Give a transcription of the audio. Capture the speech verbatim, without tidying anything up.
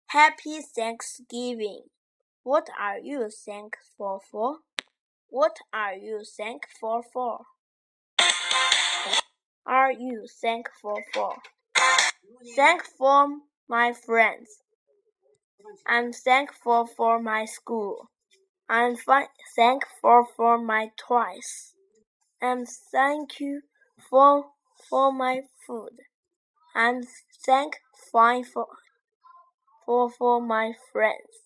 Happy Thanksgiving. What are you thankful for? What are you thankful for? Are you thankful for? Thankful my friends. I'm thankful for my school. I'm thankful for my toys. I'm thankful for, for my food. I'm thankful for, for, for my friends.